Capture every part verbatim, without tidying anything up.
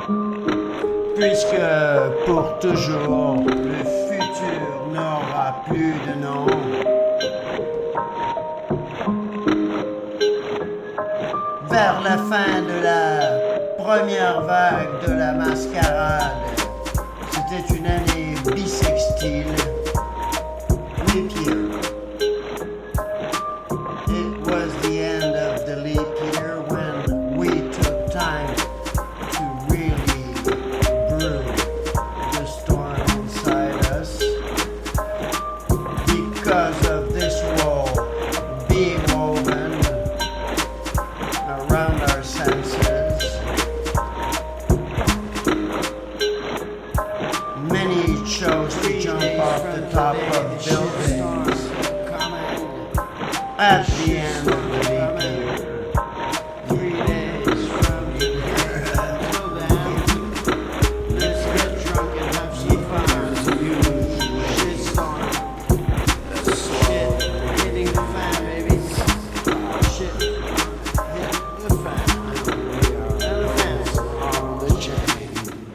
Puisque pour toujours, le futur n'aura plus de nom. Vers la fin de la première vague de la mascarade, c'était une année bissextile, les pires. It was the end of the leap year when we took time to really brew the storm inside us. Because of this wall being woven around our senses, many chose to jump off the top of buildings at the end of the leap year. Three days from here until then, let's get drunk and have some fun. It's a huge shitstorm. Shit hitting the fan, baby. Shit hitting the fan. And the fans on the chain.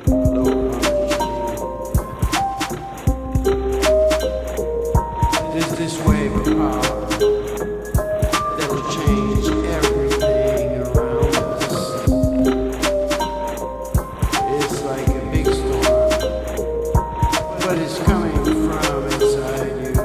There's this wave of power that will change everything around us. It's like a big storm, but it's coming from inside you.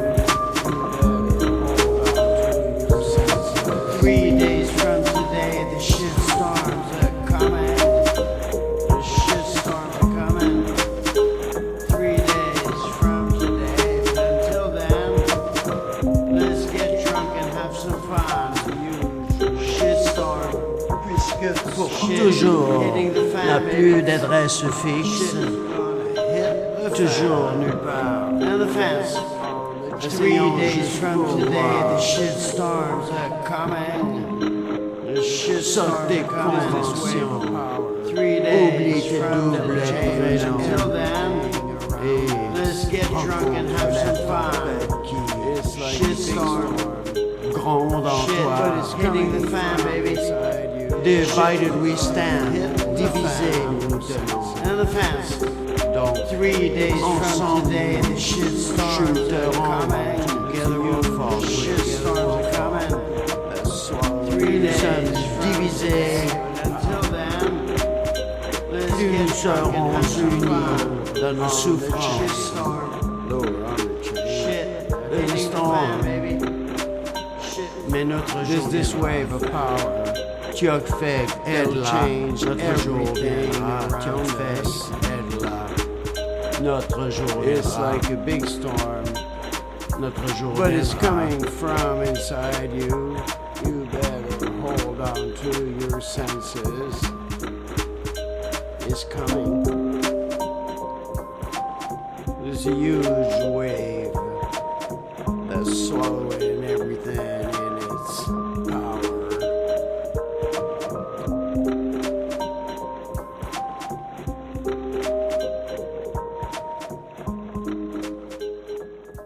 Three days from today, the shit storms are coming. The shit storms are coming. Three days from today, but until then, let's get drunk and have some fun. Shitstorm. Puisque pour toujours n'a plus d'adresse fixe, toujours nulle part. And the fans. Three days from today, the shitstorms are coming. The shitstorms are coming this way. Three days from the change. Until then, let's get drunk and have some fun. Shitstorm. Gronde en toi. Hitting the fan, baby. Divided we stand. Divisés nous tenons. And the fans. Donc, three days from today, the shitstorms are coming. Together we'll fall. Shitstorms are coming. Three days divisés. Until then, let's get drunk and have some fun. Dans nos souffrances. Shit. Hitting the fan, baby. Mais notre jour, this wave of power, tu as fait aide là, notre jour viendra, tu as fait aide là, notre jour viendra. It's like a big storm, notre jour viendra. But it's coming from inside you. You better hold on to your senses. It's coming. There's a huge wave that's swallowing